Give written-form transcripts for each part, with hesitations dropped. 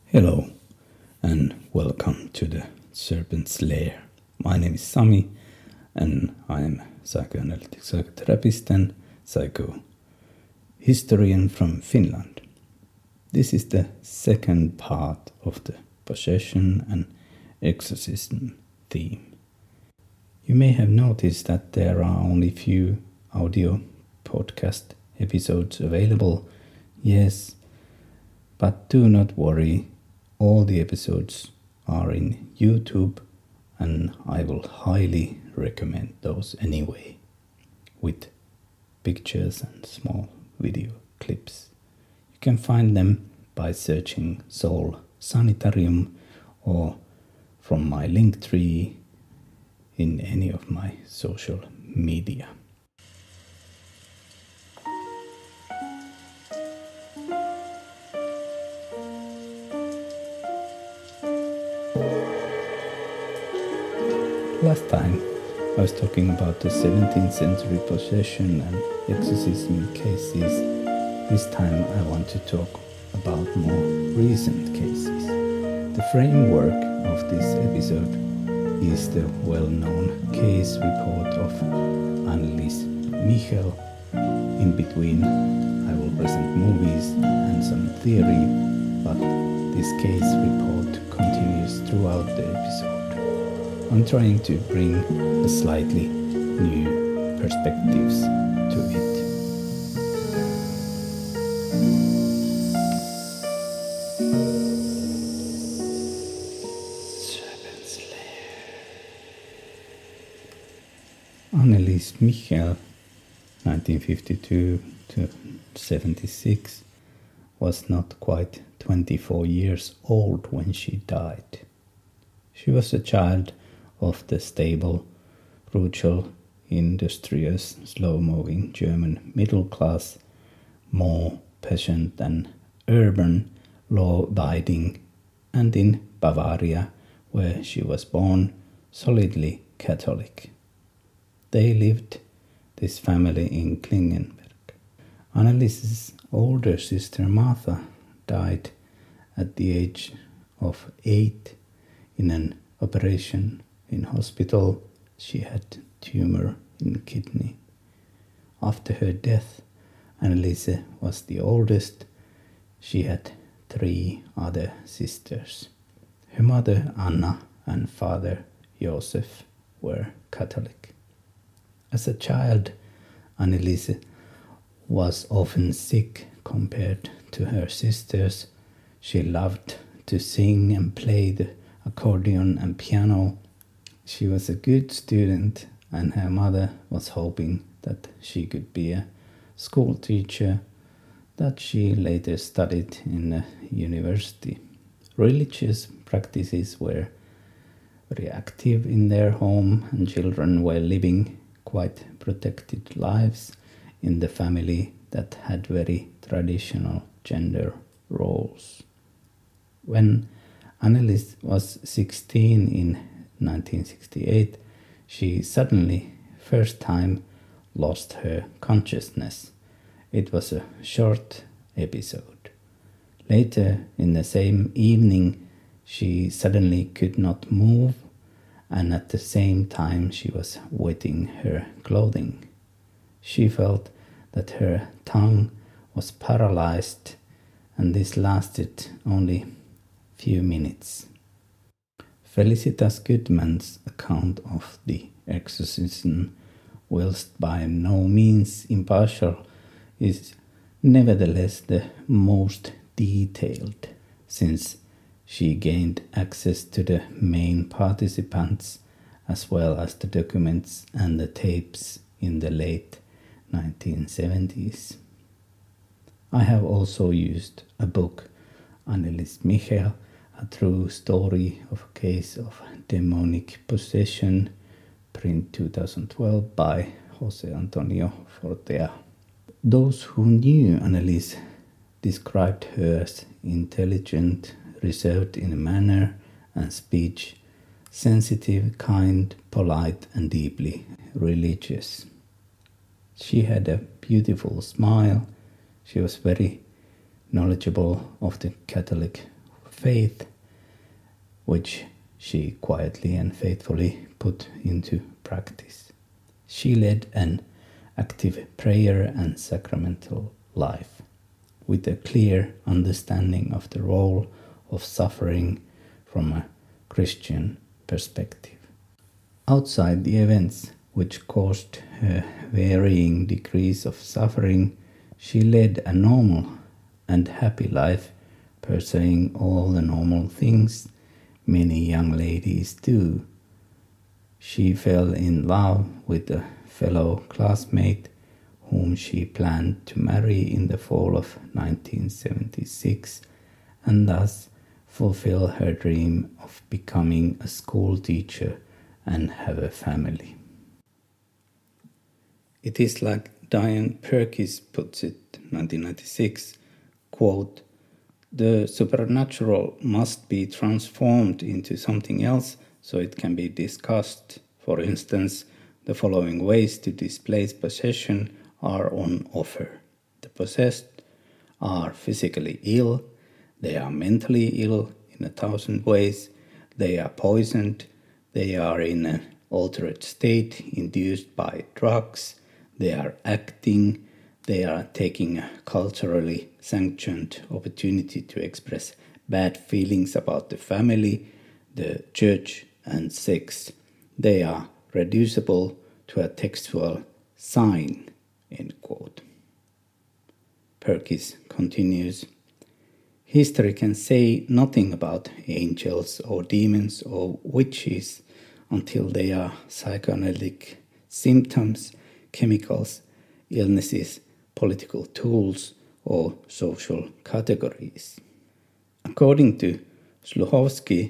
Hello and welcome to the Serpent's Lair. My name is Sami and I am psychoanalytic psychotherapist and psychohistorian from Finland. This is the second part of the possession and exorcism theme. You may have noticed that there are only few audio podcast episodes available. Yes, but do not worry. All the episodes are in YouTube and I will highly recommend those anyway, with pictures and small video clips. You can find them by searching Soul Sanitarium or from my link tree in any of my social media. Last time I was talking about the 17th century possession and exorcism cases. This time I want to talk about more recent cases. The framework of this episode is the well-known case report of Annelies Michel. In between I will present movies and some theory, but this case report continues throughout the episode. I'm trying to bring a slightly new perspectives to it. Serpent's Lair. Annelies Michel, 1952 to 76, was not quite 24 years old when she died. She was a child of the stable, brutal, industrious, slow-moving German middle class, more patient than urban, law-abiding, and in Bavaria, where she was born, solidly Catholic. They lived, this family, in Klingenberg. Annelies's older sister Martha died at the age of 8 in an operation in hospital. She had tumor in kidney. After her death, Anneliese was the oldest. She had 3 other sisters. Her mother Anna and father Josef were Catholic. As a child, Anneliese was often sick compared to her sisters. She loved to sing and play the accordion and piano. She was a good student and her mother was hoping that she could be a school teacher, that she later studied in a university. Religious practices were very active in their home and children were living quite protected lives in the family that had very traditional gender roles. When Annelies was 16 in 1968, she suddenly, first time, lost her consciousness. It was a short episode. Later, in the same evening, she suddenly could not move, and at the same time she was wetting her clothing. She felt that her tongue was paralyzed, and this lasted only few minutes. Felicitas Goodman's account of the exorcism, whilst by no means impartial, is nevertheless the most detailed, since she gained access to the main participants as well as the documents and the tapes in the late 1970s. I have also used a book, Annelies Michel, a true story of a case of demonic possession, print 2012 by Jose Antonio Fortea. Those who knew Annelies described her as intelligent, reserved in manner and speech, sensitive, kind, polite, and deeply religious. She had a beautiful smile. She was very knowledgeable of the Catholic faith, which she quietly and faithfully put into practice. She led an active prayer and sacramental life, with a clear understanding of the role of suffering from a Christian perspective. Outside the events which caused her varying degrees of suffering, she led a normal and happy life, pursuing all the normal things many young ladies do. She fell in love with a fellow classmate whom she planned to marry in the fall of 1976, and thus fulfill her dream of becoming a school teacher and have a family. It is like Diane Perkis puts it, 1996, quote, "The supernatural must be transformed into something else so it can be discussed. For instance, the following ways to displace possession are on offer. The possessed are physically ill, they are mentally ill in 1,000 ways, they are poisoned, they are in an altered state induced by drugs, they are acting, they are taking a culturally sanctioned opportunity to express bad feelings about the family, the church, and sex. They are reducible to a textual sign," end quote. Perkis continues, "History can say nothing about angels or demons or witches until they are psychoanalytic symptoms, chemicals, illnesses, political tools, or social categories." According to Sluhovsky,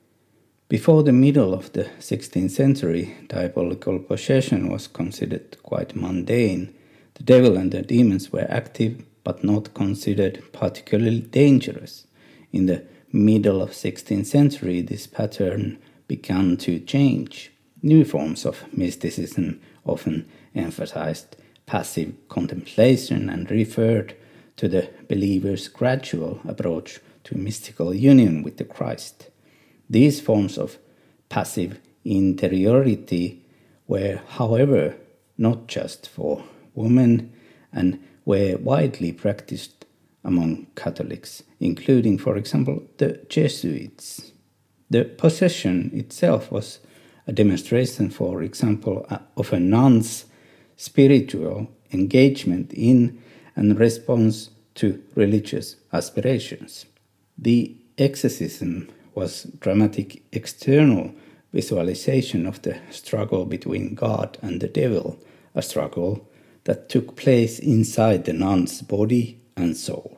before the middle of the 16th century, diabolical possession was considered quite mundane. The devil and the demons were active but not considered particularly dangerous. In the middle of 16th century, this pattern began to change. New forms of mysticism often emphasized passive contemplation and referred to the believer's gradual approach to mystical union with the Christ. These forms of passive interiority were, however, not just for women and were widely practiced among Catholics, including, for example, the Jesuits. The possession itself was a demonstration, for example, of a nun's spiritual engagement in and response to religious aspirations. The exorcism was dramatic external visualization of the struggle between God and the devil, a struggle that took place inside the nun's body and soul.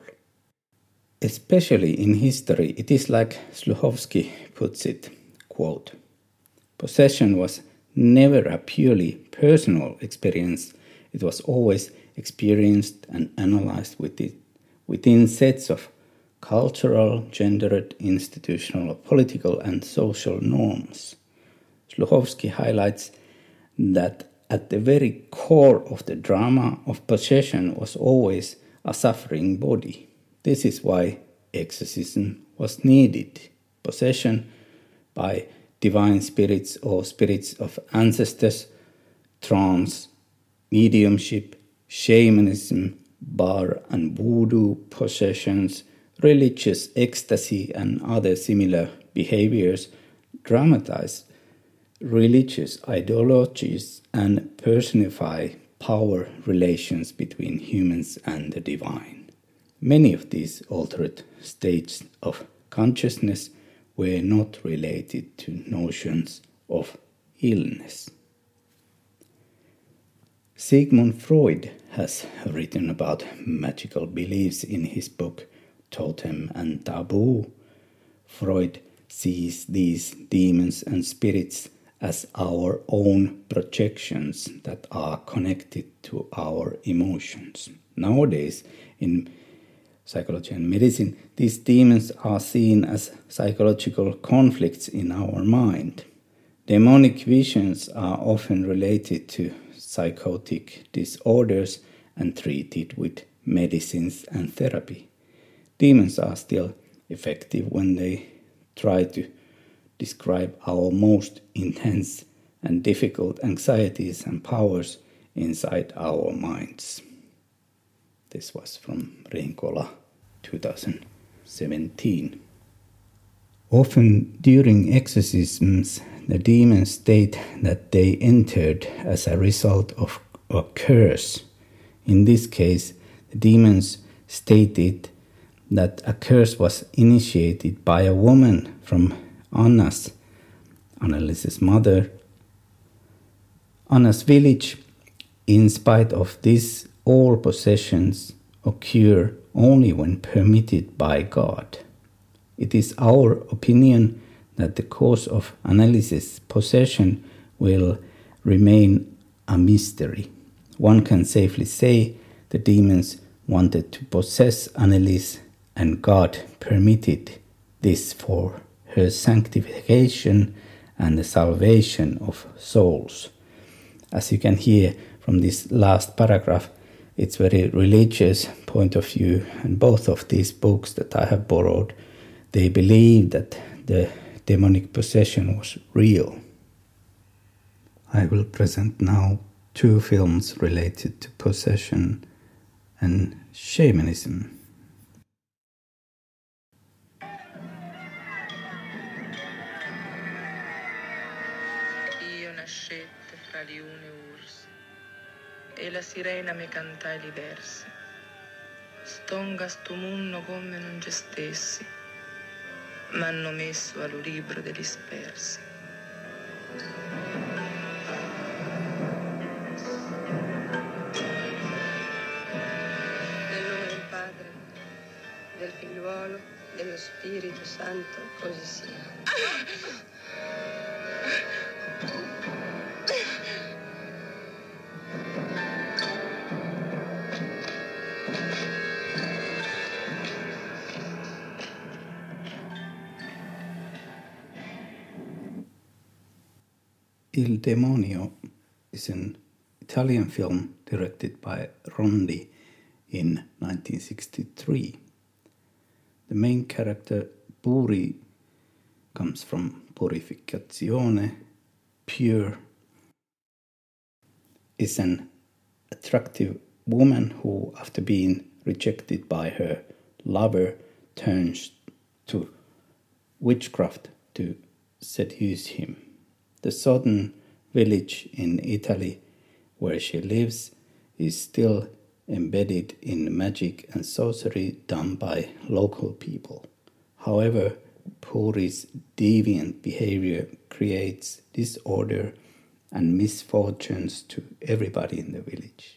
Especially in history, it is like Sluhovsky puts it, quote, "Possession was never a purely personal experience. It was always experienced and analyzed within sets of cultural, gendered, institutional, political, and social norms." Sluhovsky highlights that at the very core of the drama of possession was always a suffering body. This is why exorcism was needed. Possession by divine spirits or spirits of ancestors, trance, mediumship, shamanism, bar and voodoo possessions, religious ecstasy, and other similar behaviors dramatize religious ideologies and personify power relations between humans and the divine. Many of these altered states of consciousness were not related to notions of illness. Sigmund Freud has written about magical beliefs in his book Totem and Taboo. Freud sees these demons and spirits as our own projections that are connected to our emotions. Nowadays, in psychology and medicine, these demons are seen as psychological conflicts in our mind. Demonic visions are often related to psychotic disorders and treated with medicines and therapy. Demons are still effective when they try to describe our most intense and difficult anxieties and powers inside our minds. This was from Rinkola, 2017. Often during exorcisms, the demons state that they entered as a result of a curse. In this case, the demons stated that a curse was initiated by a woman from Anna's, Annelise's mother, Anna's village. In spite of this, all possessions occur only when permitted by God. It is our opinion that the cause of Annelise's possession will remain a mystery. One can safely say the demons wanted to possess Annelise, and God permitted this for her sanctification and the salvation of souls. As you can hear from this last paragraph, it's very religious point of view, and both of these books that I have borrowed, they believe that the demonic possession was real. I will present now 2 films related to possession and shamanism. Io nascette fra liune e ursi, e la sirena mi cantai li versi. Stonga sto munno come non c'è stessi, m'hanno messo allo libro degli spersi. Nel nome del Padre, del Figliuolo, dello Spirito Santo, così sia. Il Demonio is an Italian film directed by Rondi in 1963. The main character, Puri, comes from purificazione, pure, is an attractive woman who, after being rejected by her lover, turns to witchcraft to seduce him. The southern village in Italy where she lives is still embedded in magic and sorcery done by local people. However, Puri's deviant behavior creates disorder and misfortunes to everybody in the village.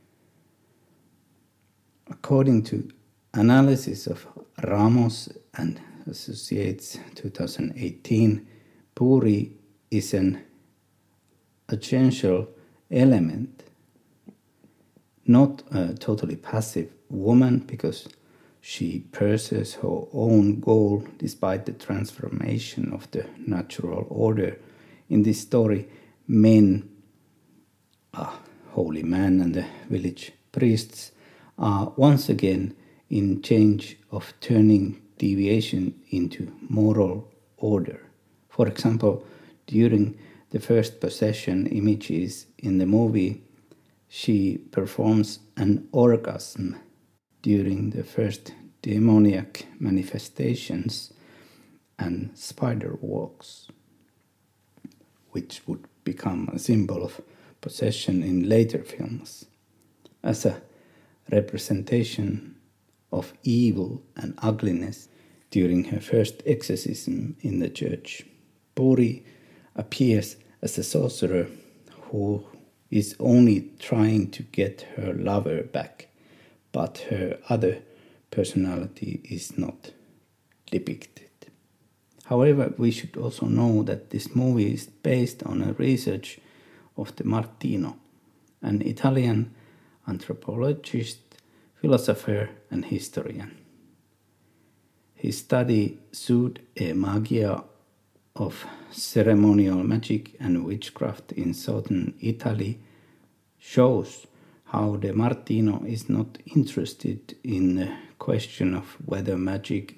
According to analysis of Ramos and Associates 2018, Puri is an essential element, not a totally passive woman, because she pursues her own goal despite the transformation of the natural order. In this story, men, a holy man and the village priests, are once again in change of turning deviation into moral order. For example, during the first possession images in the movie, she performs an orgasm during the first demoniac manifestations and spider walks, which would become a symbol of possession in later films. As a representation of evil and ugliness during her first exorcism in the church, Puri appears as a sorcerer who is only trying to get her lover back, but her other personality is not depicted. However, we should also know that this movie is based on a research of De Martino, an Italian anthropologist, philosopher and historian. His study Sud e Magia of ceremonial magic and witchcraft in southern Italy shows how De Martino is not interested in the question of whether magic is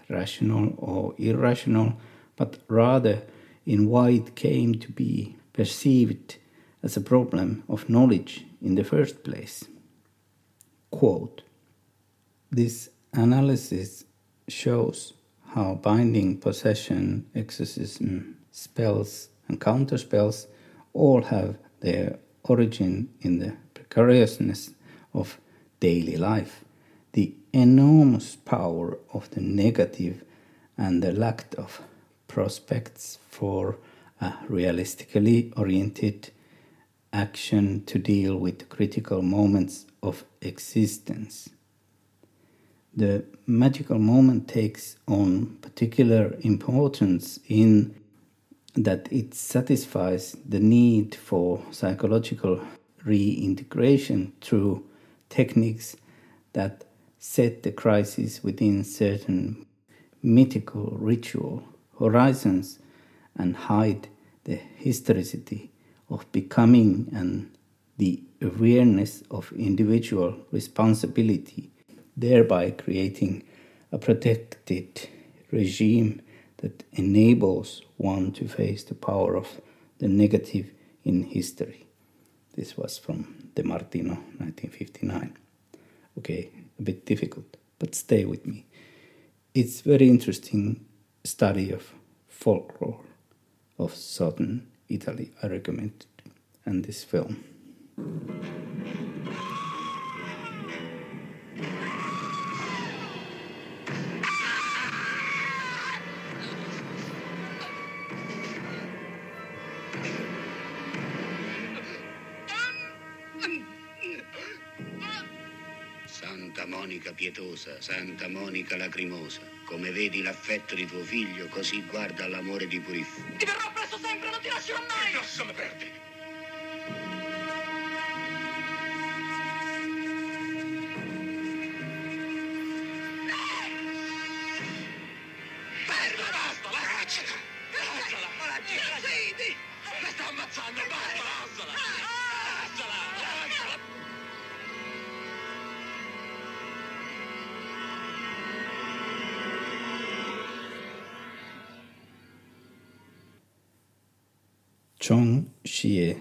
rational or irrational, but rather in why it came to be perceived as a problem of knowledge in the first place. Quote, "This analysis shows how binding, possession, exorcism, spells, and counterspells all have their origin in the precariousness of daily life, the enormous power of the negative, and the lack of prospects for a realistically oriented action to deal with critical moments of existence. The magical moment takes on particular importance in that it satisfies the need for psychological reintegration through techniques that set the crisis within certain mythical ritual horizons and hide the historicity of becoming and the awareness of individual responsibility, thereby creating a protected regime that enables one to face the power of the negative in history." This was from De Martino, 1959. Okay, a bit difficult, but stay with me. It's very interesting study of folklore of southern Italy. I recommend it, and this film. Santa Monica pietosa, Santa Monica lacrimosa, come vedi l'affetto di tuo figlio, così guarda all'amore di Purifico. Ti verrò presso sempre, non ti lascerò mai! Lasciami perdere! Basta, lasciala! Lasciala! Vedi! La sta ammazzando, basta! Lasciala! Lasciala! Lasciala! Zhong Xie,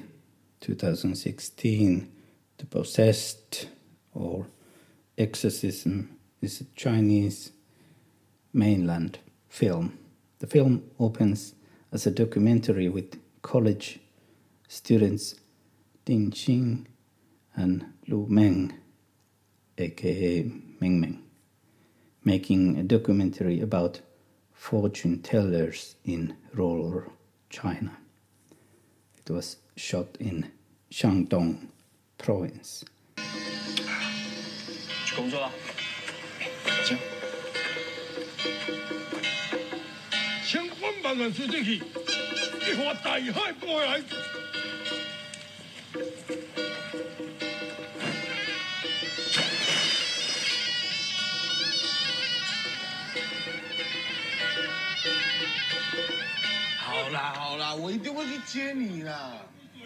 2016, The Possessed or Exorcism, is a Chinese mainland film. The film opens as a documentary with college students Ding Xing and Lu Meng, aka Meng Meng, making a documentary about fortune tellers in rural China. It was shot in Shandong province. 去工作了，行。 千万万万岁进去，一划大海过来。好啦，我一定会去接你啦。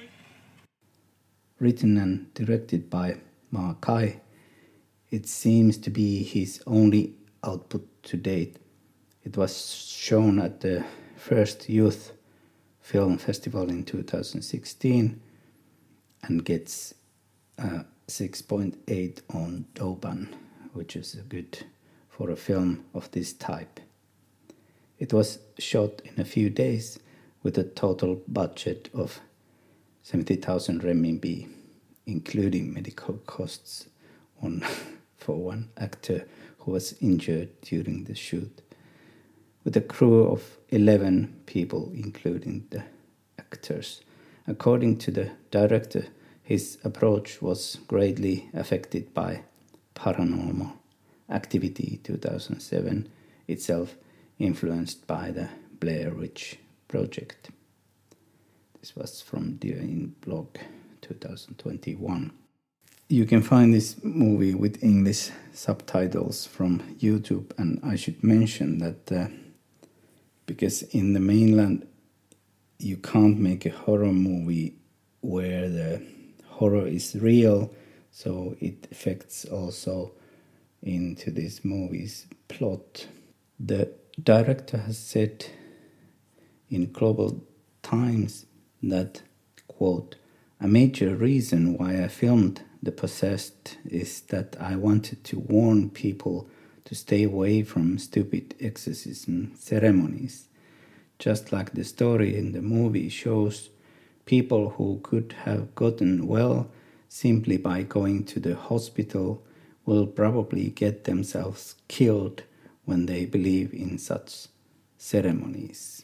Written and directed by Ma Kai, it seems to be his only output to date. It was shown at the first Youth Film Festival in 2016 and gets a 6.8 on Douban, which is good for a film of this type. It was shot in a few days with a total budget of 70,000 renminbi, including medical costs for one actor who was injured during the shoot, with a crew of 11 people, including the actors. According to the director, his approach was greatly affected by Paranormal Activity 2007, itself influenced by the Blair Witch Project. This was from Dear Blog 2021. You can find this movie with English subtitles from YouTube, and I should mention that because in the mainland you can't make a horror movie where the horror is real, so it affects also into this movie's plot. The director has said in Global Times that, quote, "A major reason why I filmed The Possessed is that I wanted to warn people to stay away from stupid exorcism ceremonies. Just like the story in the movie shows, people who could have gotten well simply by going to the hospital will probably get themselves killed when they believe in such ceremonies."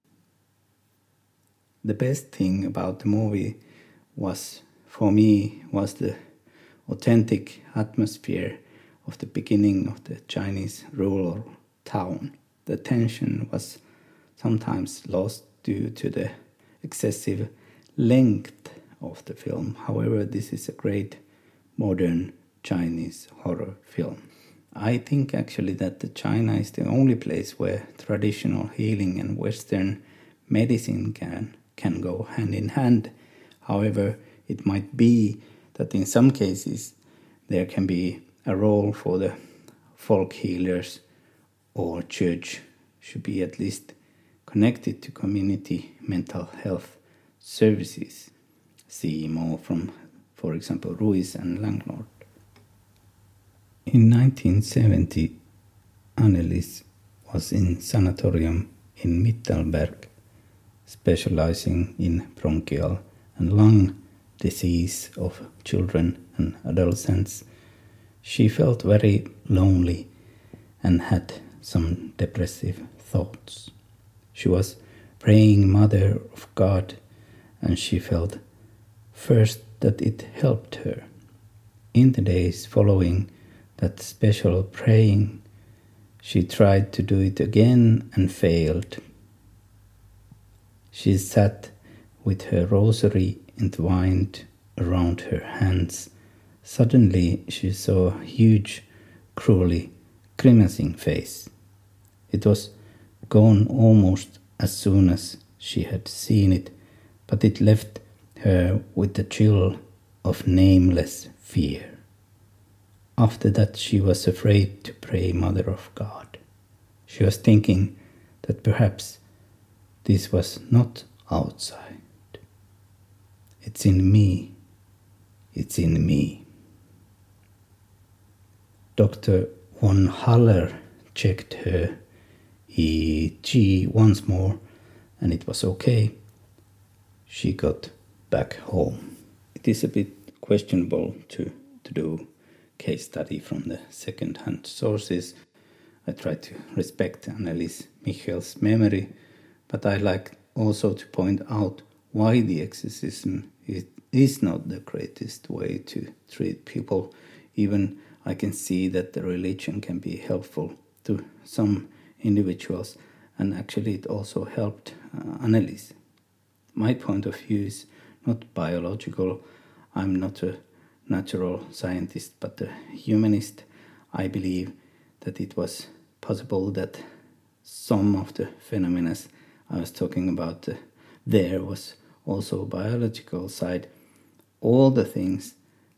The best thing about the movie was the authentic atmosphere of the beginning of the Chinese rural town. The tension was sometimes lost due to the excessive length of the film. However, this is a great modern Chinese horror film. I think actually that China is the only place where traditional healing and Western medicine can go hand in hand. However, it might be that in some cases there can be a role for the folk healers, or church should be at least connected to community mental health services. See more from, for example, Ruiz and Langlord. In 1970, Annelies was in sanatorium in Mittelberg, specializing in bronchial and lung disease of children and adolescents. She felt very lonely and had some depressive thoughts. She was praying Mother of God, and she felt first that it helped her. In the days following that special praying, she tried to do it again and failed. She sat with her rosary entwined around her hands. Suddenly she saw a huge, cruelly grimacing face. It was gone almost as soon as she had seen it, but it left her with the chill of nameless fear. After that she was afraid to pray Mother of God. She was thinking that perhaps this was not outside. It's in me. It's in me. Dr. von Haller checked her EEG once more, and it was okay. She got back home. It is a bit questionable to do case study from the second-hand sources. I try to respect Annelies Michel's memory, but I like also to point out why the exorcism is not the greatest way to treat people. Even I can see that the religion can be helpful to some individuals, and actually it also helped Annelies. My point of view is not biological. I'm not a natural scientist, but a humanist. I believe that it was possible that some of the phenomena I was talking about there was also a biological side. All the things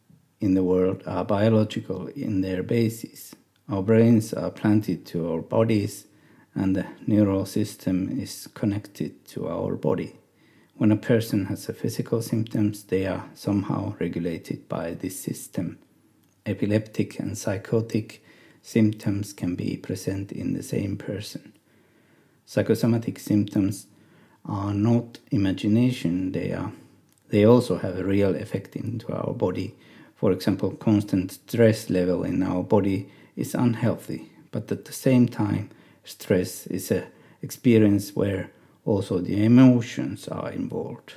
in the world are biological in their basis. Our brains are planted to our bodies, and the neural system is connected to our body. When a person has a physical symptoms, they are somehow regulated by this system. Epileptic and psychotic symptoms can be present in the same person. Psychosomatic symptoms are not imagination, they also have a real effect into our body. For example, constant stress level in our body is unhealthy, but at the same time, stress is an experience where also the emotions are involved.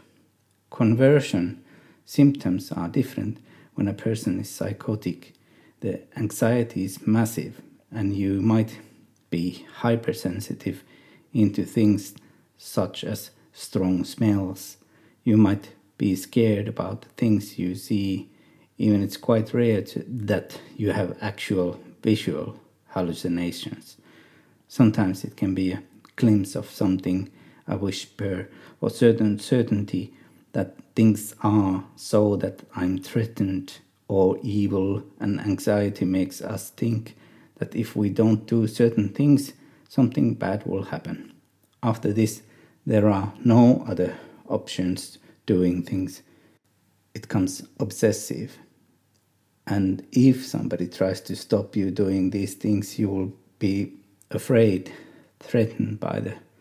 Conversion symptoms are different. When a person is psychotic, the anxiety is massive, and you might be hypersensitive into things such as strong smells. You might be scared about things you see. Even it's quite rare that you have actual visual hallucinations. Sometimes it can be a glimpse of something, a whisper, or certain certainty that things are so that I'm threatened or evil, and anxiety makes us think that if we don't do certain things, something bad will happen. After this, there are no other options doing things. It becomes obsessive. And if somebody tries to stop you doing these things, you will be afraid, threatened by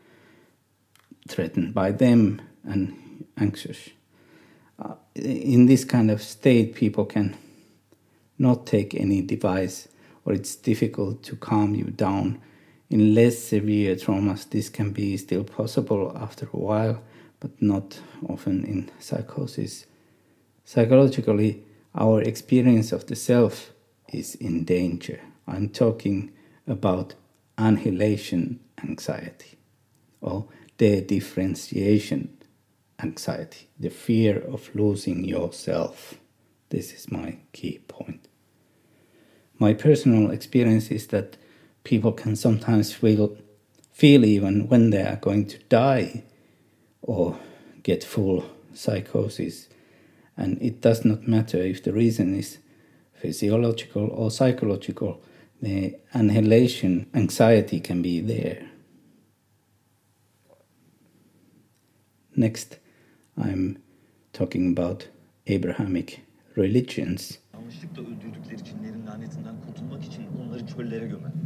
them and anxious. In this kind of state, people can not take any device, or it's difficult to calm you down. In less severe traumas, this can be still possible after a while, but not often in psychosis. Psychologically, our experience of the self is in danger. I'm talking about annihilation anxiety, or de-differentiation anxiety, the fear of losing yourself. This is my key point. My personal experience is that people can sometimes feel even when they are going to die or get full psychosis. And it does not matter if the reason is physiological or psychological, the annihilation anxiety can be there. Next, I'm talking about Abrahamic religions. Yanlışlıkla öldürdükleri cinlerin lanetinden kurtulmak için onları çöllere gömermiş.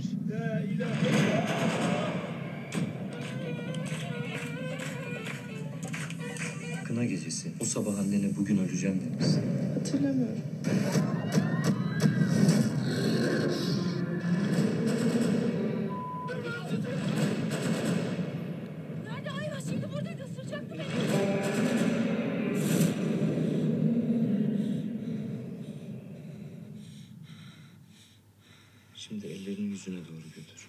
Kına gecesi. O sabah annene bugün öleceğim demişsin. Hatırlamıyorum. Nerede Ayva? Şimdi buradaydı. Isıracaktı beni. Şimdi ellerini yüzüne doğru götür.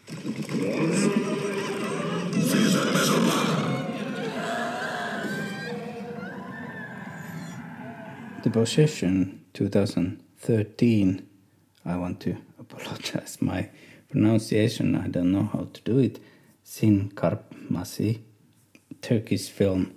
The Possession 2013, I want to apologize my pronunciation, I don't know how to do it. Sin Karpmasi, Turkish film.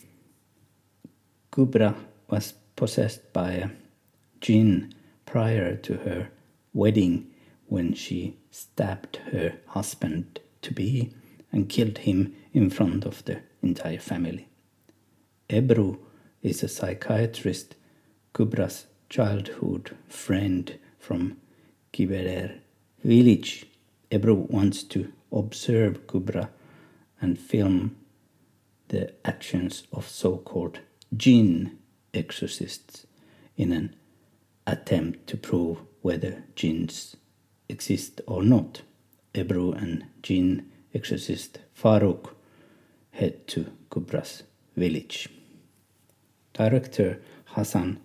Kubra was possessed by a jinn prior to her wedding when she stabbed her husband-to-be and killed him in front of the entire family. Ebru is a psychiatrist, Kubra's childhood friend from Kiberer village. Ebru wants to observe Kubra and film the actions of so-called jinn exorcists in an attempt to prove whether jinns exist or not. Ebru and jinn exorcist Faruk head to Kubra's village. Director Hasan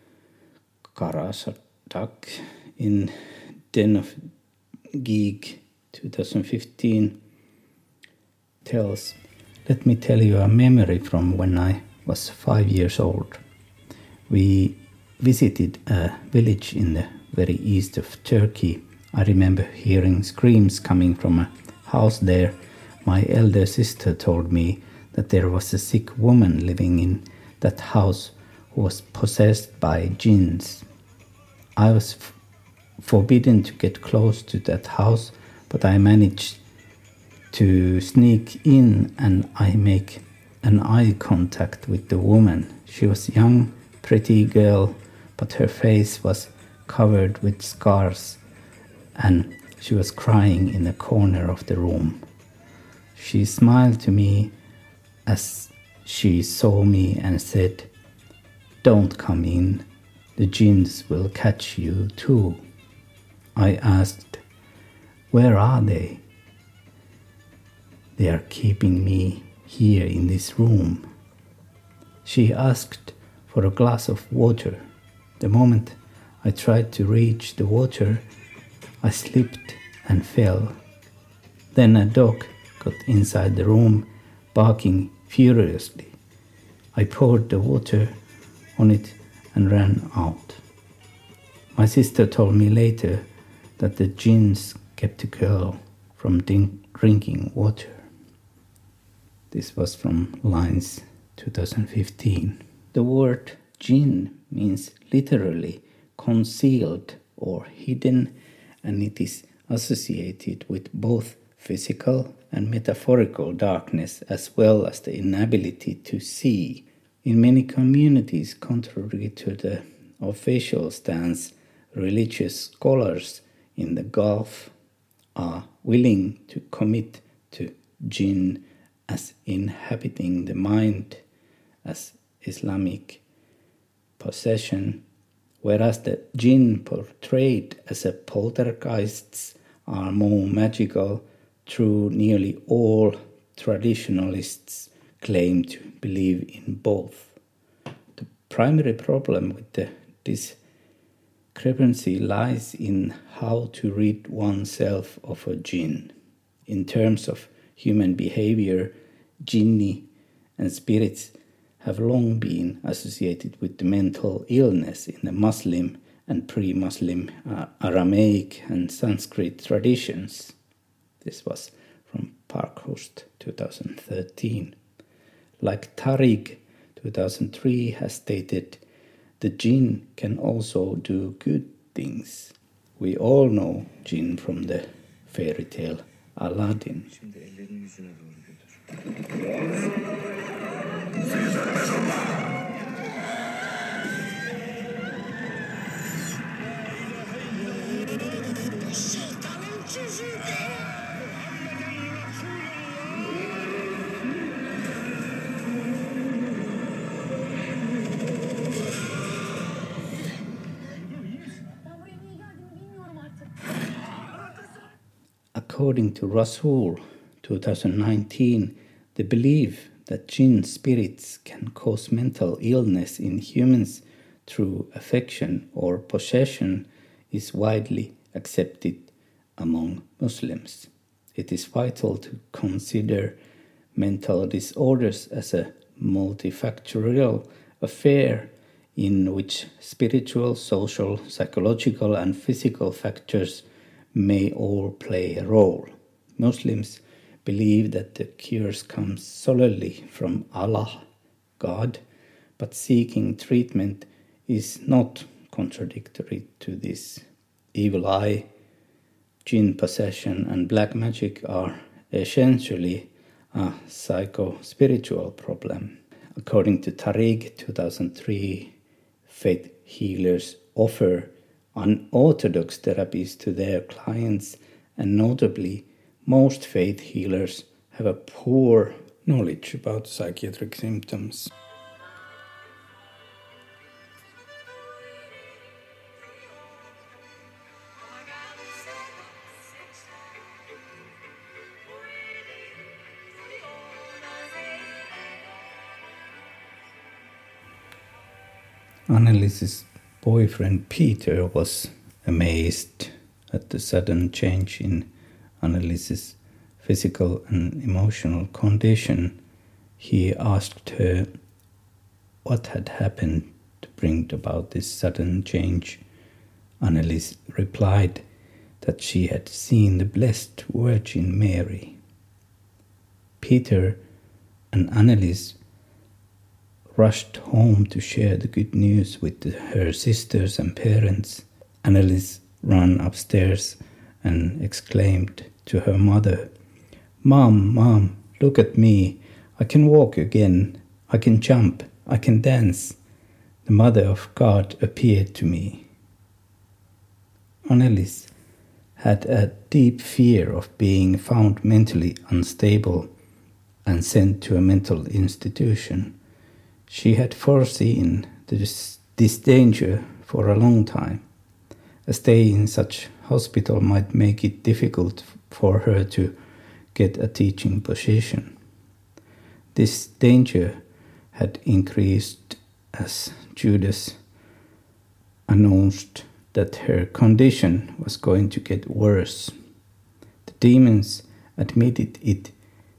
Karasadak in Den of Geek 2015 tells, "Let me tell you a memory from when I was 5 years old. We visited a village in the very east of Turkey. I remember hearing screams coming from a house there. My elder sister told me that there was a sick woman living in that house who was possessed by jinns. I was forbidden to get close to that house, but I managed to sneak in and I make an eye contact with the woman. She was a young, pretty girl, but her face was covered with scars and she was crying in the corner of the room. She smiled to me as she saw me and said, 'Don't come in, the jinns will catch you too.' I asked, 'Where are they?' 'They are keeping me here in this room.' She asked for a glass of water. The moment I tried to reach the water, I slipped and fell. Then a dog got inside the room, barking furiously. I poured the water on it and ran out. My sister told me later that the jinns kept the girl from drinking water." This was from Lines 2015. The word jinn means literally concealed or hidden, and it is associated with both physical and metaphorical darkness, as well as the inability to see. In many communities, contrary to the official stance, religious scholars in the Gulf are willing to commit to jinn as inhabiting the mind as Islamic possession, whereas the jinn portrayed as a poltergeists are more magical. True, nearly all traditionalists claim to believe in both. The primary problem with the discrepancy lies in how to rid oneself of a jinn. In terms of human behavior, jinni and spirits have long been associated with the mental illness in the Muslim and pre-Muslim Aramaic and Sanskrit traditions. This was from Parkhurst, 2013. Like Tariq, 2003, has stated, the jinn can also do good things. We all know jinn from the fairy tale Aladdin. Şimdi ellerini yüzüne doğru götür. According to Rasul, 2019, the belief that jinn spirits can cause mental illness in humans through affection or possession is widely accepted among Muslims. It is vital to consider mental disorders as a multifactorial affair in which spiritual, social, psychological, and physical factors may all play a role. Muslims believe that the cures come solely from Allah, God, but seeking treatment is not contradictory to this. Evil eye, jinn possession, and black magic are essentially a psycho-spiritual problem. According to Tariq, 2003, faith healers offer unorthodox therapies to their clients, and notably, most faith healers have a poor knowledge about psychiatric symptoms. Annelies's boyfriend Peter was amazed at the sudden change in Annelies's physical and emotional condition. He asked her what had happened to bring about this sudden change. Annelies replied that she had seen the Blessed Virgin Mary. Peter and Annelies rushed home to share the good news with her sisters and parents. Annelies ran upstairs and exclaimed to her mother, Mom, look at me. I can walk again. I can jump. I can dance. The Mother of God appeared to me." Annelies had a deep fear of being found mentally unstable and sent to a mental institution. She had foreseen this danger for a long time. A stay in such hospital might make it difficult for her to get a teaching position. This danger had increased as Judas announced that her condition was going to get worse. The demons admitted it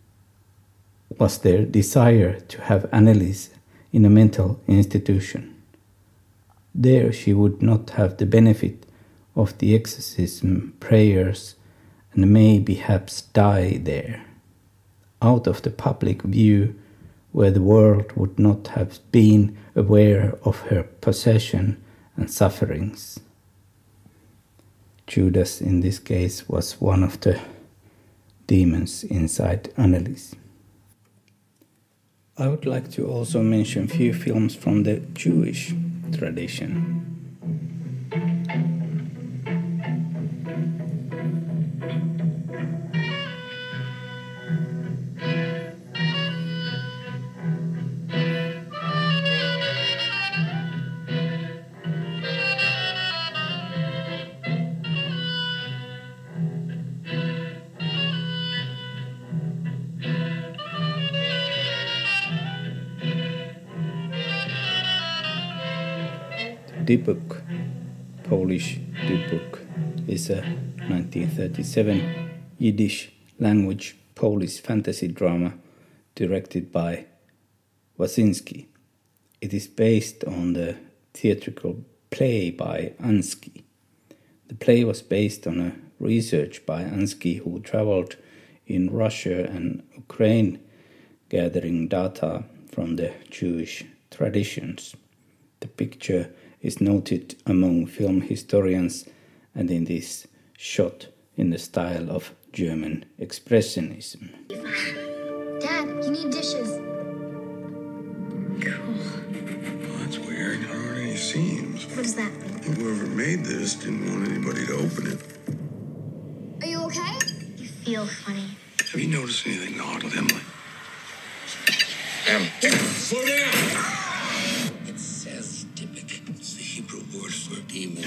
was their desire to have Annelies in a mental institution. There she would not have the benefit of the exorcism prayers and may perhaps die there, out of the public view, where the world would not have been aware of her possession and sufferings. Judas in this case was one of the demons inside Annelies. I would like to also mention a few films from the Jewish tradition. Dybbuk, Polish Dybbuk, is a 1937 Yiddish language Polish fantasy drama directed by Wasinski. It is based on the theatrical play by Ansky. The play was based on a research by Ansky, who traveled in Russia and Ukraine gathering data from the Jewish traditions. The picture is noted among film historians and it is shot in the style of German Expressionism. Dad, you need dishes. Cool. Well, that's weird. There aren't any seams. What does that mean? Whoever made this didn't want anybody to open it. Are you okay? You feel funny. Have you noticed anything odd with Emily? Slow down! It says Dybbuk. It's the Hebrew word for demon.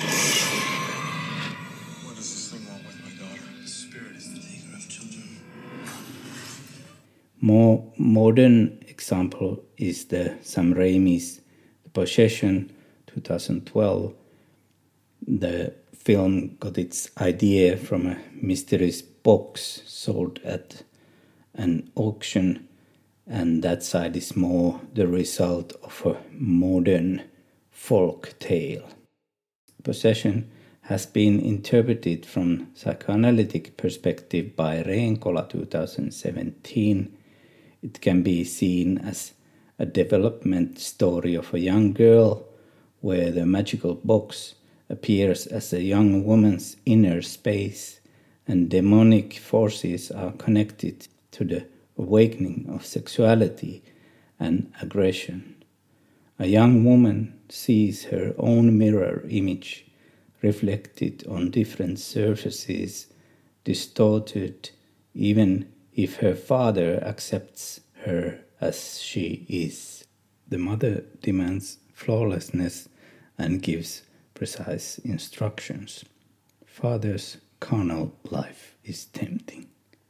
What is this thing wrong with my daughter? The spirit is the taker of children. More modern example is the Sam Raimi's The Possession, 2012. The film got its idea from a mysterious box sold at an auction, and that side is more the result of a modern folk tale. Possession has been interpreted from psychoanalytic perspective by Reenkola 2017. It can be seen as a development story of a young girl where the magical box appears as a young woman's inner space and demonic forces are connected to the awakening of sexuality and aggression. A young woman sees her own mirror image reflected on different surfaces, distorted even if her father accepts her as she is. The mother demands flawlessness and gives precise instructions. Father's carnal life is tempting.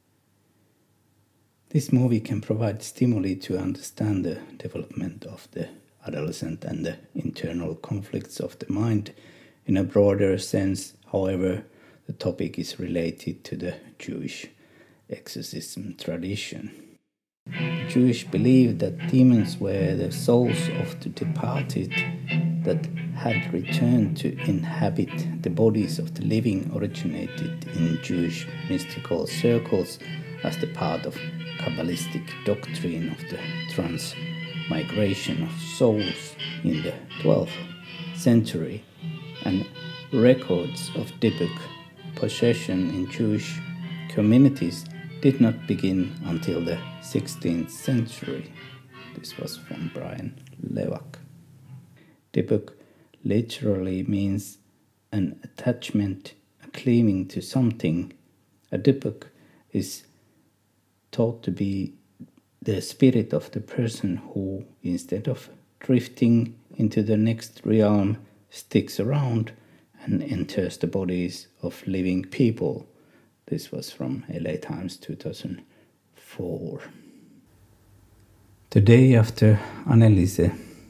This movie can provide stimuli to understand the development of the adolescent and the internal conflicts of the mind in a broader sense. However, the topic is related to the Jewish exorcism tradition. The Jewish believed that demons were the souls of the departed that had returned to inhabit the bodies of the living, originated in Jewish mystical circles as the part of Kabbalistic doctrine of the transmigration of souls in the 12th century, and records of Dybbuk possession in Jewish communities did not begin until the 16th century. This was from Brian Levak. Dybbuk literally means an attachment, a clinging to something. A Dybbuk is thought to be the spirit of the person who, instead of drifting into the next realm, sticks around and enters the bodies of living people. This was from LA Times 2004. The day after Anneliese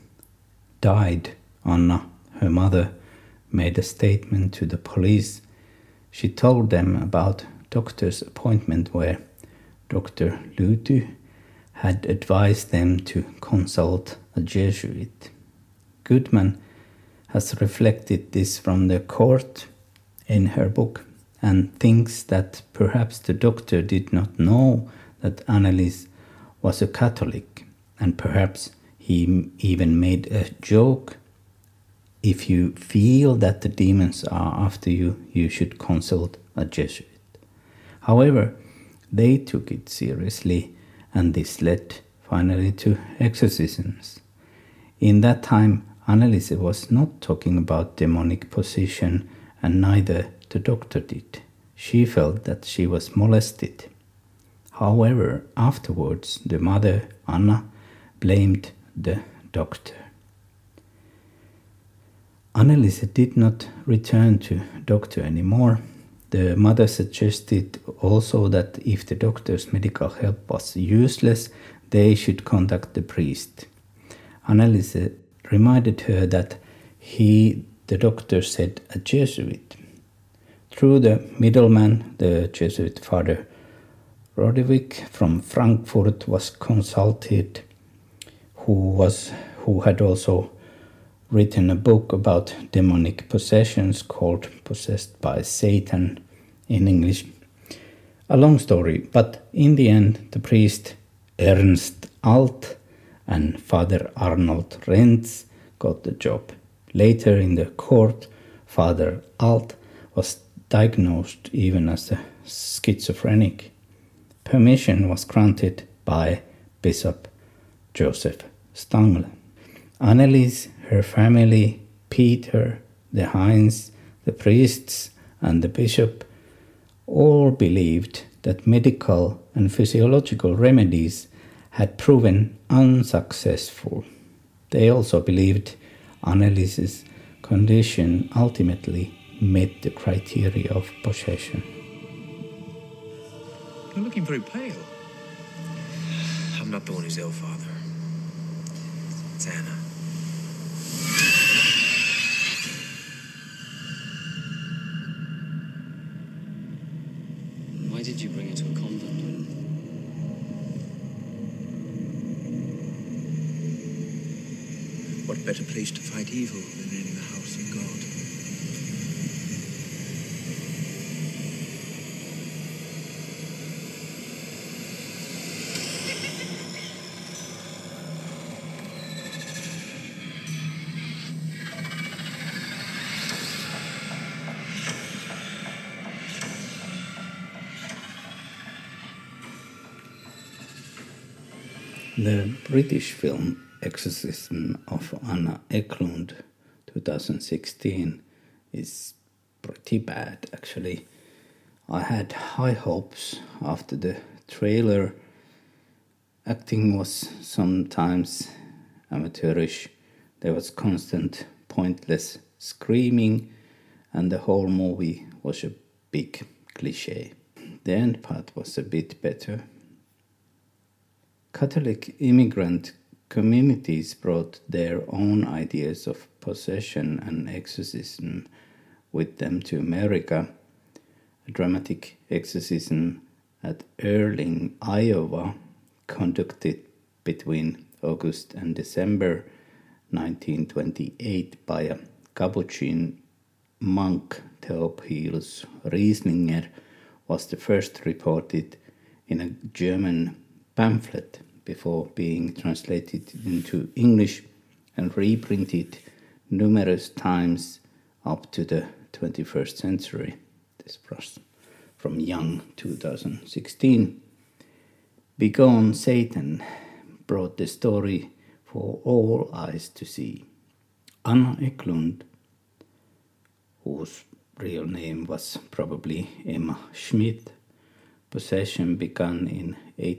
died, Anna, her mother, made a statement to the police. She told them about doctor's appointment where Dr. Luty had advised them to consult a Jesuit. Goodman has reflected this from the court in her book and thinks that perhaps the doctor did not know that Anneliese was a Catholic, and perhaps he even made a joke. If you feel that the demons are after you, you should consult a Jesuit. However, They took it seriously, and this led finally to exorcisms. In that time, Anneliese was not talking about demonic possession, and neither the doctor did. She felt that she was molested. However, afterwards, the mother, Anna, blamed the doctor. Anneliese did not return to doctor anymore. The mother suggested also that if the doctor's medical help was useless, they should contact the priest. Anneliese reminded her that the doctor, said a Jesuit. Through the middleman, the Jesuit Father Rodewijk from Frankfurt was consulted, who had also written a book about demonic possessions called Possessed by Satan in English. A long story, but in the end the priest Ernst Alt and Father Arnold Renz got the job. Later in the court, Father Alt was diagnosed even as a schizophrenic. Permission was granted by Bishop Joseph Stangl. Anneliese, her family, Peter, the Heinz, the priests, and the bishop all believed that medical and physiological remedies had proven unsuccessful. They also believed Anneliese's condition ultimately met the criteria of possession. You're looking very pale. I'm not the one who's ill, Father. It's Anna. Why did you bring her to a convent? What better place to fight evil than in the house of God? The British film Exorcism of Anna Eklund 2016 is pretty bad, actually. I had high hopes after the trailer. Acting was sometimes amateurish. There was constant pointless screaming, and the whole movie was a big cliché. The end part was a bit better. Catholic immigrant communities brought their own ideas of possession and exorcism with them to America. A dramatic exorcism at Earling, Iowa, conducted between August and December 1928 by a Capuchin monk, Theophilus Rieslinger, was the first reported in a German pamphlet before being translated into English and reprinted numerous times up to the 21st century. This was from Young 2016. Begone Satan brought the story for all eyes to see. Anna Eklund, whose real name was probably Emma Schmidt, possession began in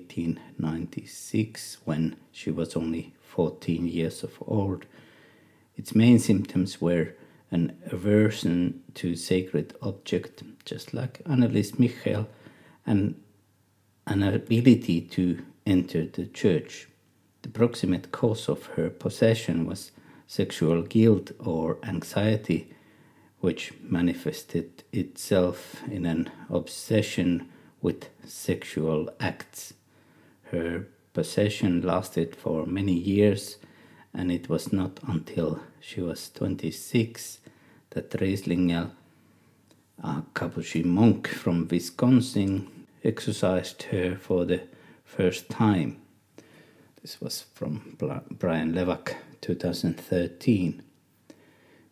1896 when she was only 14 years old. Its main symptoms were an aversion to sacred objects, just like Anneliese Michel, and an ability to enter the church. The proximate cause of her possession was sexual guilt or anxiety, which manifested itself in an obsession with sexual acts. Her possession lasted for many years, and it was not until she was 26 that Rieslinger, a Capuchin monk from Wisconsin, exorcised her for the first time. This was from Brian Levack, 2013.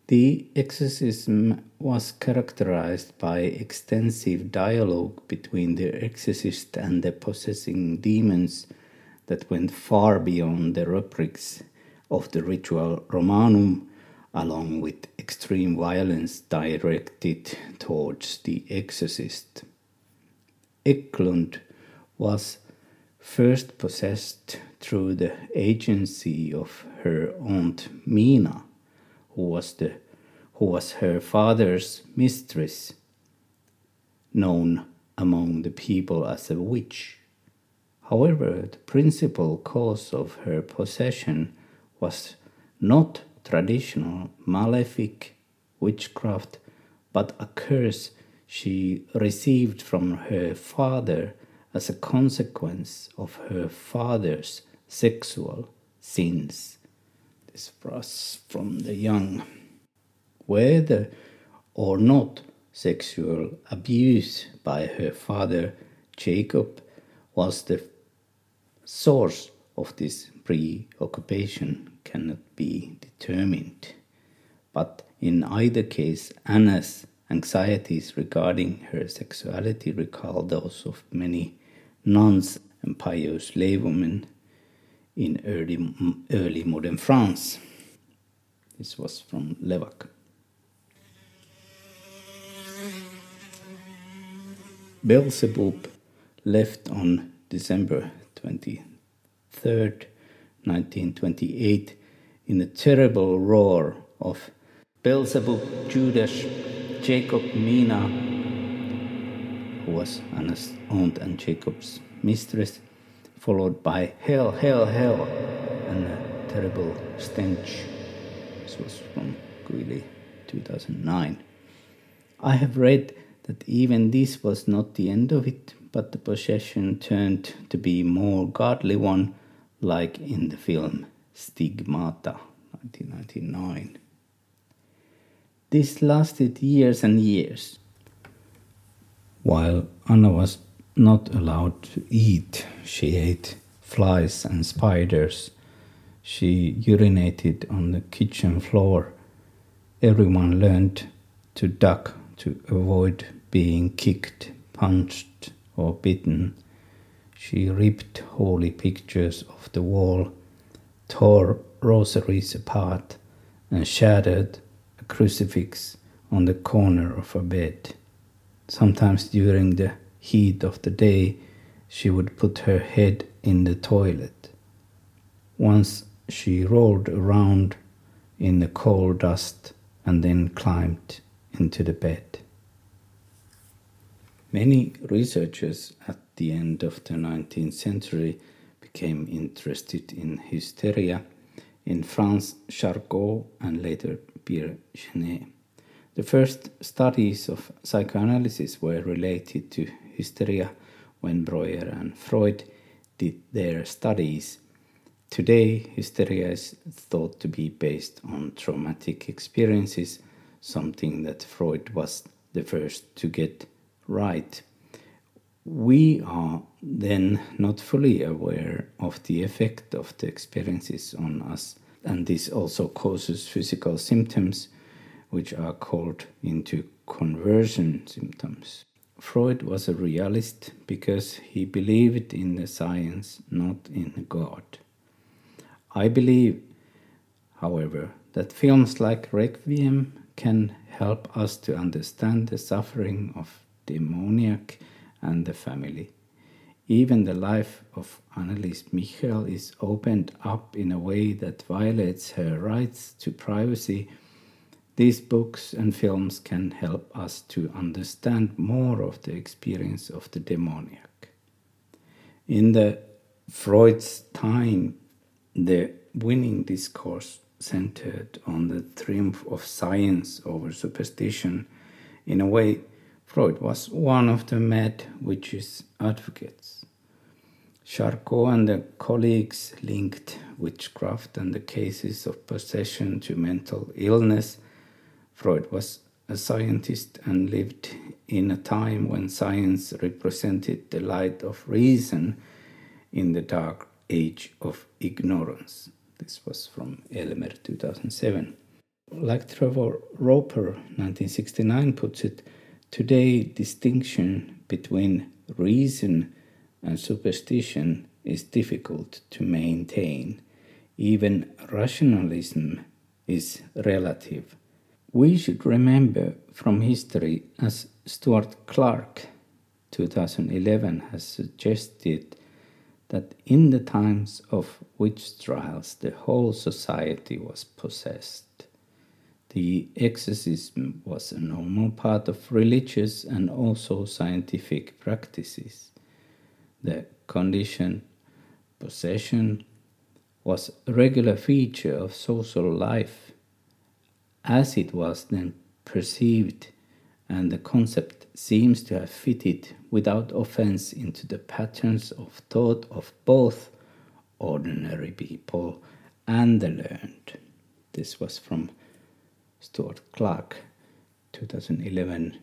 The exorcism was characterized by extensive dialogue between the exorcist and the possessing demons that went far beyond the rubrics of the ritual Romanum, along with extreme violence directed towards the exorcist. Eklund was first possessed through the agency of her aunt Mina, who was her father's mistress, known among the people as a witch. However, the principal cause of her possession was not traditional malefic witchcraft, but a curse she received from her father as a consequence of her father's sexual sins. This was from the young. Whether or not sexual abuse by her father Jacob was the source of this preoccupation cannot be determined. But in either case, Anna's anxieties regarding her sexuality recall those of many nuns and pious laywomen in early modern France. This was from Levac. Beelzebub left on December 23rd, 1928, in a terrible roar of Beelzebub, Judas, Jacob, Mina, who was Anna's aunt and Jacob's mistress, followed by hell, hell, hell, and a terrible stench. This was from Guilly, 2009. I have read that even this was not the end of it, but the possession turned to be a more godly one, like in the film Stigmata, 1999. This lasted years and years. While Anna was not allowed to eat, she ate flies and spiders. She urinated on the kitchen floor. Everyone learned to duck to avoid being kicked, punched, or bitten. She ripped holy pictures off the wall, tore rosaries apart, and shattered a crucifix on the corner of her bed. Sometimes during the heat of the day, she would put her head in the toilet. Once she rolled around in the coal dust and then climbed into the bed. Many researchers at the end of the 19th century became interested in hysteria. In France, Charcot and later Pierre Genet. The first studies of psychoanalysis were related to hysteria when Breuer and Freud did their studies. Today, hysteria is thought to be based on traumatic experiences, something that Freud was the first to get right. We are then not fully aware of the effect of the experiences on us, and this also causes physical symptoms, which are called into conversion symptoms. Freud was a realist because he believed in the science, not in God. I believe, however, that films like Requiem can help us to understand the suffering of demoniac and the family. Even the life of Anneliese Michel is opened up in a way that violates her rights to privacy. These books and films can help us to understand more of the experience of the demoniac. In the Freud's time, the winning discourse centered on the triumph of science over superstition. In a way, Freud was one of the mad witches' advocates. Charcot and the colleagues linked witchcraft and the cases of possession to mental illness. Freud was a scientist and lived in a time when science represented the light of reason in the dark age of ignorance. This was from Elmer, 2007. like Trevor Roper, 1969, puts it, today distinction between reason and superstition is difficult to maintain. Even rationalism is relative. We should remember from history, as Stuart Clark, 2011, has suggested, that in the times of witch trials the whole society was possessed. The exorcism was a normal part of religious and also scientific practices. The condition, possession, was a regular feature of social life as it was then perceived, and the concept seems to have fitted without offense into the patterns of thought of both ordinary people and the learned. This was from Stuart Clark, 2011.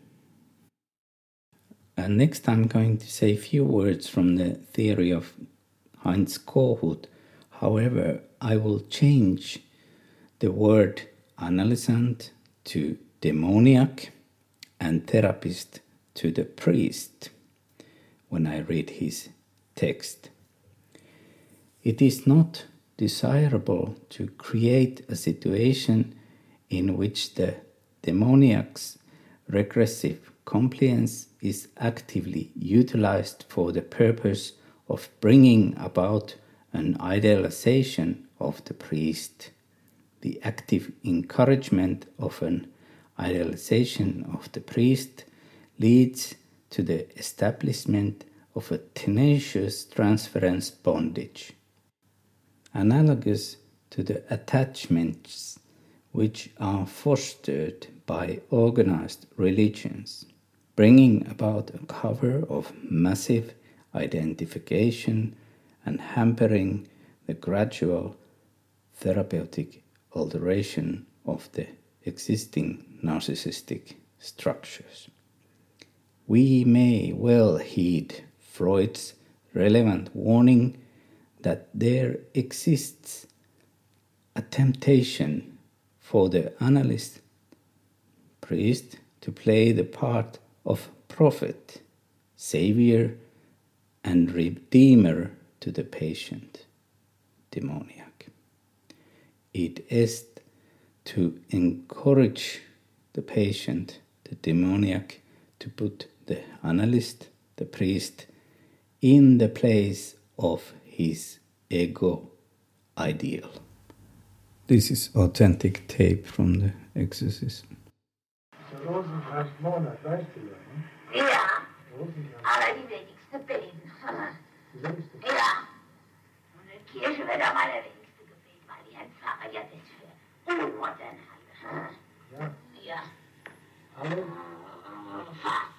And next I'm going to say a few words from the theory of Heinz Kohut. However, I will change the word analysant to demoniac and therapist to the priest when I read his text. It is not desirable to create a situation in which the demoniac's regressive compliance is actively utilized for the purpose of bringing about an idealization of the priest. The active encouragement of an idealization of the priest leads to the establishment of a tenacious transference bondage, analogous to the attachments which are fostered by organized religions, bringing about a cover of massive identification and hampering the gradual therapeutic alteration of the existing narcissistic structures. We may well heed Freud's relevant warning that there exists a temptation for the analyst priest to play the part of prophet, savior, and redeemer to the patient, demoniac. It is to encourage the patient, the demoniac, to put the analyst, the priest, in the place of his ego ideal. This is authentic tape from the exorcism. Ja, aber die wenigste beten. Ja, und in Kirche wird am allerwenigsten gebeten, weil die Herrn Pfarrer ja das für unmodern halten. Ja. Ja. Hallo? Fast.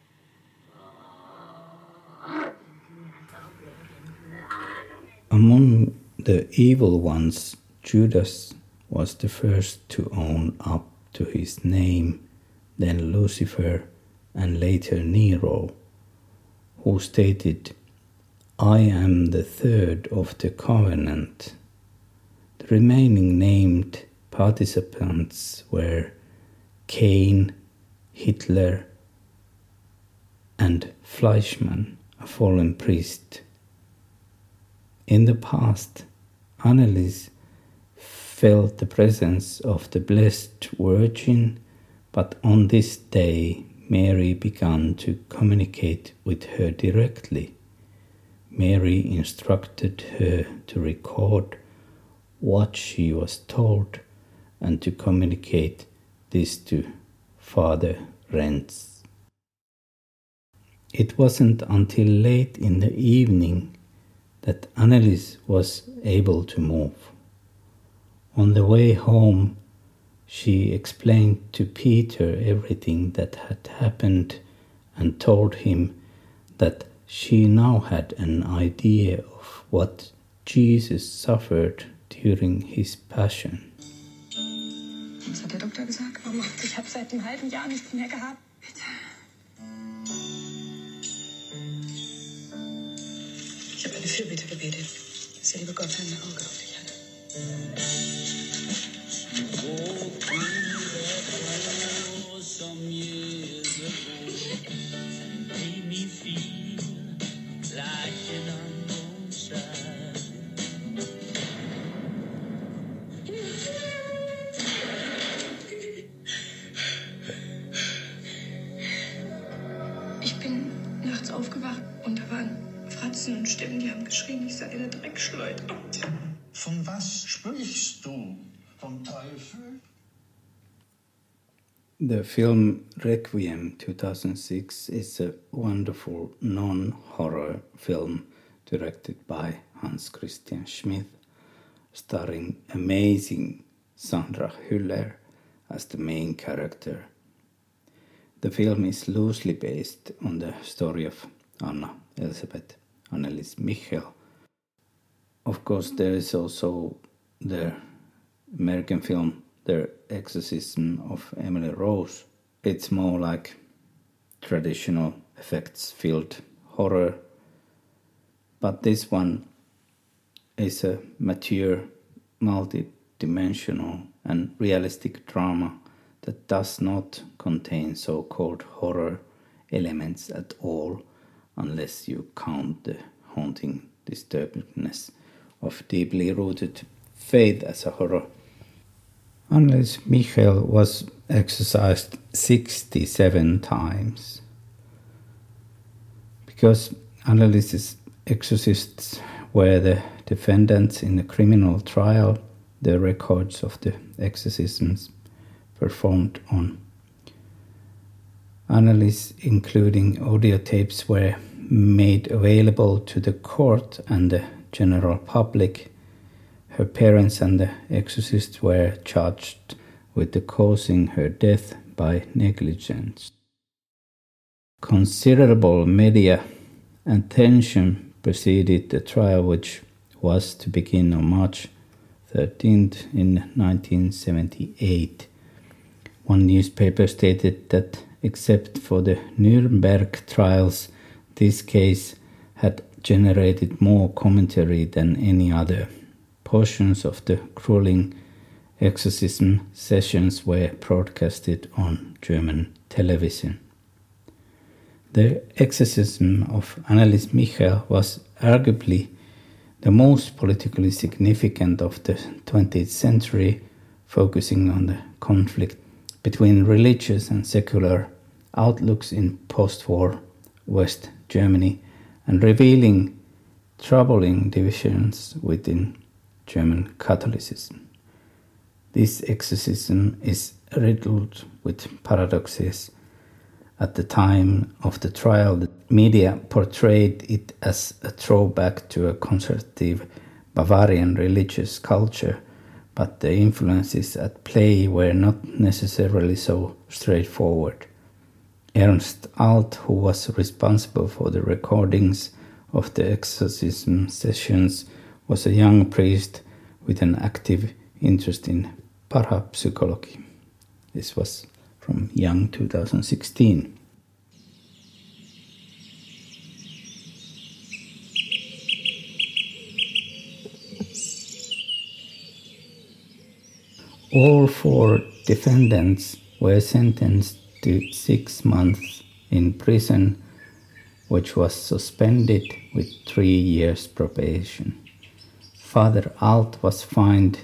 Among the evil ones, Judas was the first to own up to his name, then Lucifer, and later Nero, who stated, "I am the third of the covenant." The remaining named participants were Cain, Hitler, and Fleischmann, a fallen priest. In the past, Annelies felt the presence of the Blessed Virgin, but on this day Mary began to communicate with her directly. Mary instructed her to record what she was told and to communicate this to Father Renz. It wasn't until late in the evening that Annelies was able to move. On the way home, she explained to Peter everything that had happened and told him that she now had an idea of what Jesus suffered during his passion. Was hat der Doktor gesagt? Ich habe seit einem halben Jahr nichts mehr gehabt. Bitte. Ich habe eine Fürbitte gebetet, dass der liebe Gott sein Auge auf dich hat. Ich bin nachts aufgewacht und da waren Fratzen und Stimmen, die haben geschrien, ich sei eine Dreckschleuder. Von was sprichst du? Vom Teufel? The film Requiem 2006 is a wonderful non-horror film directed by Hans Christian Schmidt, starring amazing Sandra Hüller as the main character. The film is loosely based on the story of Anna Elisabeth Annelies Michel. Of course, there is also the American film The Exorcism of Emily Rose. It's more like traditional effects-filled horror, but this one is a mature, multi-dimensional and realistic drama that does not contain so-called horror elements at all, unless you count the haunting disturbingness of deeply rooted faith as a horror. Annelies Michel was exorcised 67 times. Because Annelies' exorcists were the defendants in the criminal trial, the records of the exorcisms performed on Annelies, including audio tapes, were made available to the court and the general public. Her parents and the exorcist were charged with the causing her death by negligence. Considerable media attention preceded the trial, which was to begin on March 13th in 1978. One newspaper stated that except for the Nuremberg trials, this case had generated more commentary than any other. Portions of the grueling exorcism sessions were broadcasted on German television. The exorcism of Annelies Michel was arguably the most politically significant of the 20th century, focusing on the conflict between religious and secular outlooks in post-war West Germany and revealing troubling divisions within German Catholicism. This exorcism is riddled with paradoxes. At the time of the trial, the media portrayed it as a throwback to a conservative Bavarian religious culture, but the influences at play were not necessarily so straightforward. Ernst Alt, who was responsible for the recordings of the exorcism sessions, was a young priest with an active interest in parapsychology. This was from Young 2016. All four defendants were sentenced to 6 months in prison, which was suspended with 3 years probation. Father Alt was fined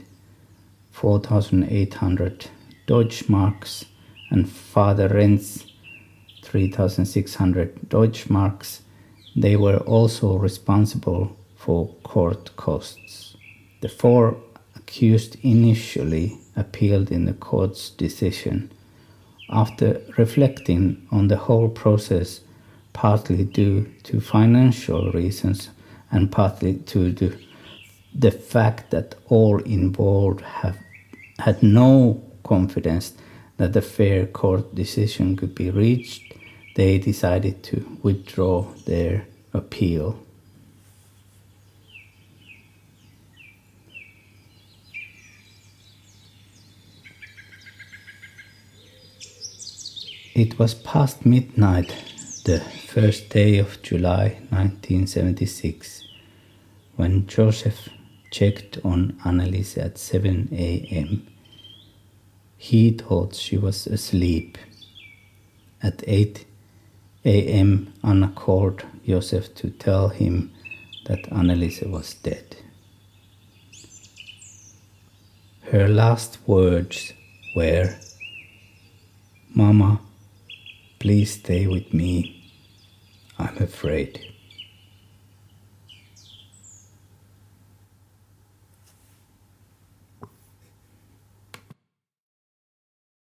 4,800 Deutschmarks and Father Renz 3,600 Deutschmarks. They were also responsible for court costs. The 4 accused initially appealed in the court's decision. After reflecting on the whole process, partly due to financial reasons and partly to the fact that all involved had no confidence that a fair court decision could be reached, they decided to withdraw their appeal. It was past midnight, the first day of July 1976, when Joseph checked on Annelies at 7 a.m. He thought she was asleep. At 8 a.m. Anna called Josef to tell him that Anneliese was dead. Her last words were, "Mama, please stay with me. I'm afraid."